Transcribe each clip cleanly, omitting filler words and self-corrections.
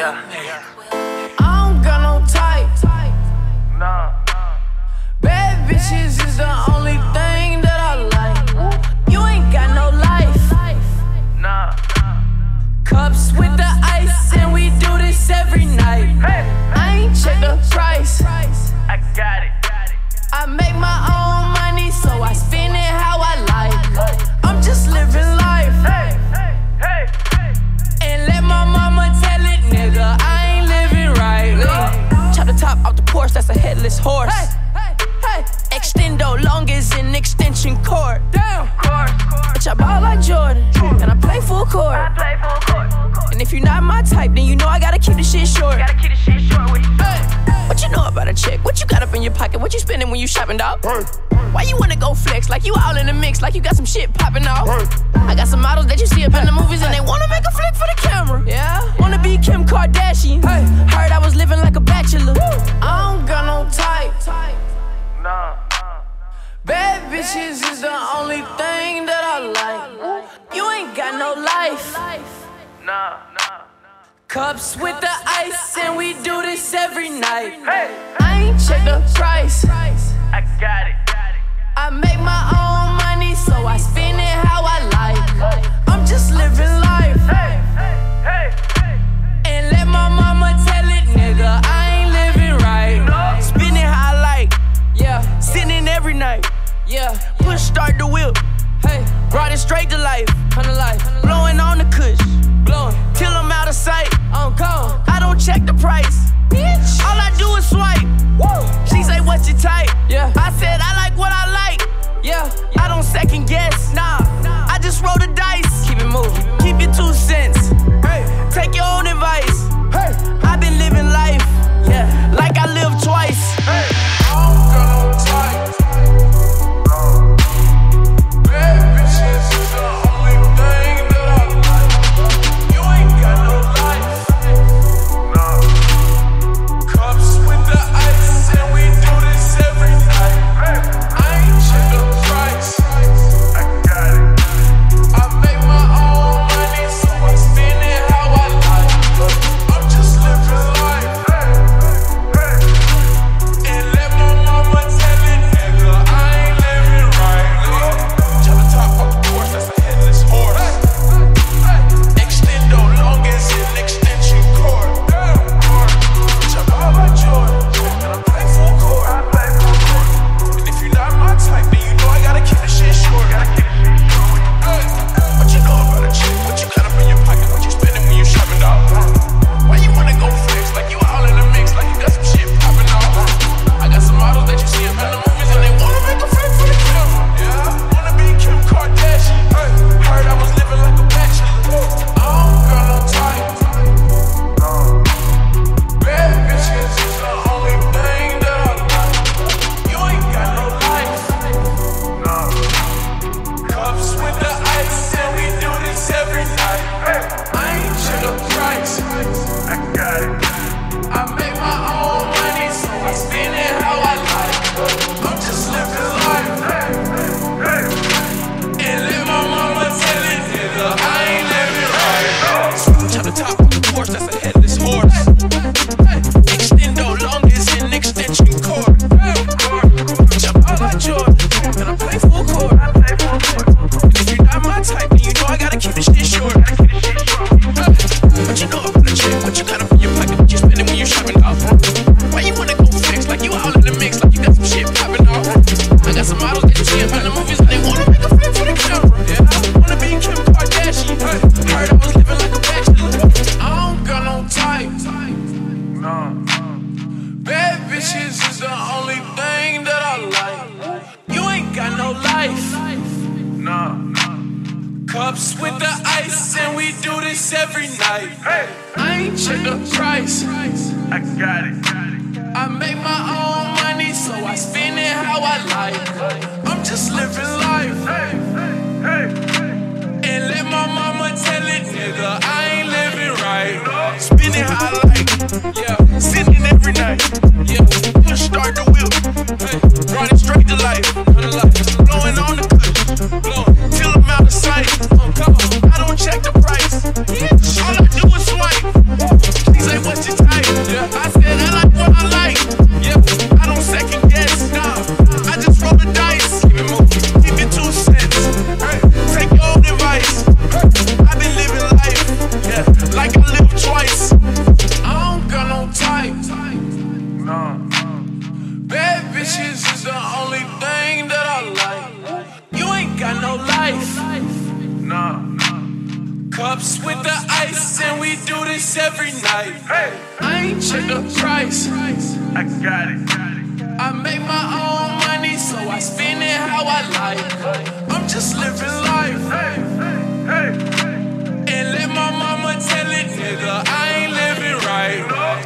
Yeah. I don't got no type. Nah. Bad bitches is the only thing that I like. You ain't got no life. Nah. Cups with the ice, and we do this every night. I ain't check the price. I got it. I make my own money, so I spend it how I like. I'm just living life. And let my mama tell it, nigga, I ain't living right. Chop the top off the Porsche, that's a headless horse. Extendo long as an extension cord. Damn. Bitch, I ball like Jordan, and I play full court. And if you're not my type, then you know I gotta keep the shit short. What you know about a chick? What you got up in your pocket? What you spending when you shopping, dog? Why you wanna go flex? Like you all in the mix, like you got some shit popping off. I got some models that you see up in the movies and they wanna make a flick for the camera. Yeah, wanna be Kim Kardashian. Heard I was living like a bachelor. I don't got no type. Nah. Bad bitches is the only thing that I like. You ain't got no life. Nah. Cups with the ice, and we do this every night. I ain't check the price. I got it. I make my own money, so I spend it how I like. I'm just living life. And let my mama tell it, nigga, I ain't living right. Spend it how I like. Yeah, sitting every night. Yeah, push start the whip. Hey, brought it straight to life. Blowing on the kush. Blowing till I'm out of sight. I'm gone. I don't check the price. Bitch, all I do is swipe. Woo. She say, what's your type? Yeah. I said, I like what I like. Yeah. I don't second guess. Nah. I just roll the dice. Keep it moving. Keep your 2 cents. Hey. Take your own advice. Hey. I've been living life. Yeah. Like I live twice. Hey. I don't got no type. Bad bitches is the only thing that I like. You ain't got no life. Cups with the ice, and we do this every night. I ain't check the price. I got it. I make my own money, so I spend it how I like. I'm just living life. And let my mama tell it, nigga, I ain't living right. Chop the top off the Porsche, that's a headless horse. Extendo long as an extension cord. Chop all like Jordan, and I play full court. And if you're not my type, then you know I gotta keep the shit short. What you know about a chick? What you got up in your pocket? What you spending when you shopping, dog? Why you wanna go flex? Like you all in the mix, like you got some shit popping off. I got some models that you see up in the movies and they wanna make a flick for the camera. Yeah, wanna be Kim Kardashian. Heard I was living like a bachelor. I don't got no type. Bad bitches is the only thing that I like. You ain't got no life. Cups with the ice, and we do this every night. I ain't check the price. I got it. I make my own money, so I spend it how I like. I'm just living life. And let my mama tell it, nigga, I ain't living right. Switch on the top of the Porsche, that's a headless horse. Extendo long as an extension cord. Jump all like Jordan, and I play full court. And if you're not my type, then you know I gotta keep the shit short. What you know about a chick? What you got up in your pocket? What you spending when you shopping, dog? Why you wanna go flex? Like you all in the mix, like you got some shit popping off. I got some models that you see up in the movies and they wanna make a flick for the camera. Yeah, wanna be Kim Kardashian. Heard I was living like a bachelor. I don't got no type. Nah. Bad bitches is the only thing that I like. You ain't got no life. Nah. Cups with the ice, and we do this every night. I ain't check the price. I got it. I make my own money, so I spend it how I like. I'm just living life. And let my mama tell it, nigga, I ain't living right. Spend it how I like. Yeah, sitting every night. Yeah, push start the whip. Hey, brought it straight to life. Blowing on the kush. Blowing till I'm out of sight. Come on, I don't check the price. All I do is swipe. She say, got no life. Nah. Cups with the ice, and we do this every night. Hey. I ain't check the price. I got it. I make my own money, so I spend it how I like. I'm just living life. Hey. And let my mama tell it, nigga, I ain't living right.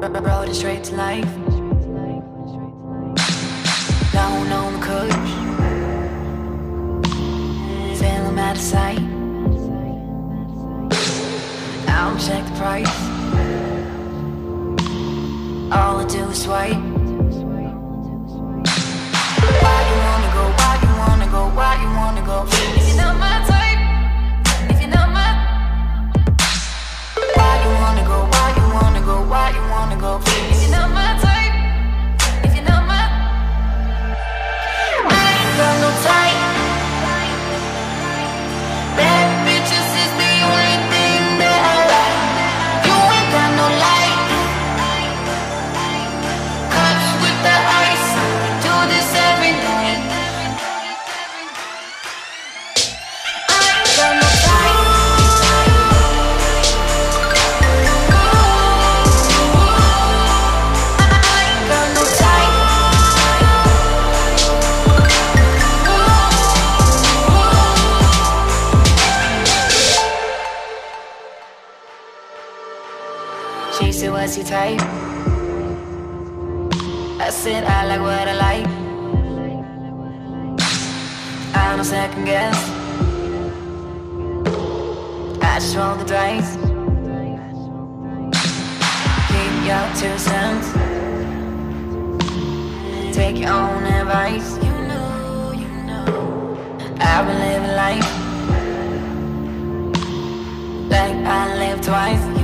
Rode it straight to life. Down on the coach, feel him out of sight. I don't check the price. All I do is swipe. Why you wanna go? Why you wanna go? Why you wanna go? If you're not my type, if you're not my. Why you wanna go? Why you wanna go? Why you wanna go? If you're not my type, if you're not my. I ain't got no type. Bad bitches is the only thing that I like. You ain't got no light. Cups with the ice. Do this every night. I ain't got no type. I ain't got no type. She said, what's your type? I said, I like what I like. I don't second guess. I just roll the dice. Keep your 2 cents. Take your own advice. You know I've been living life like I lived twice.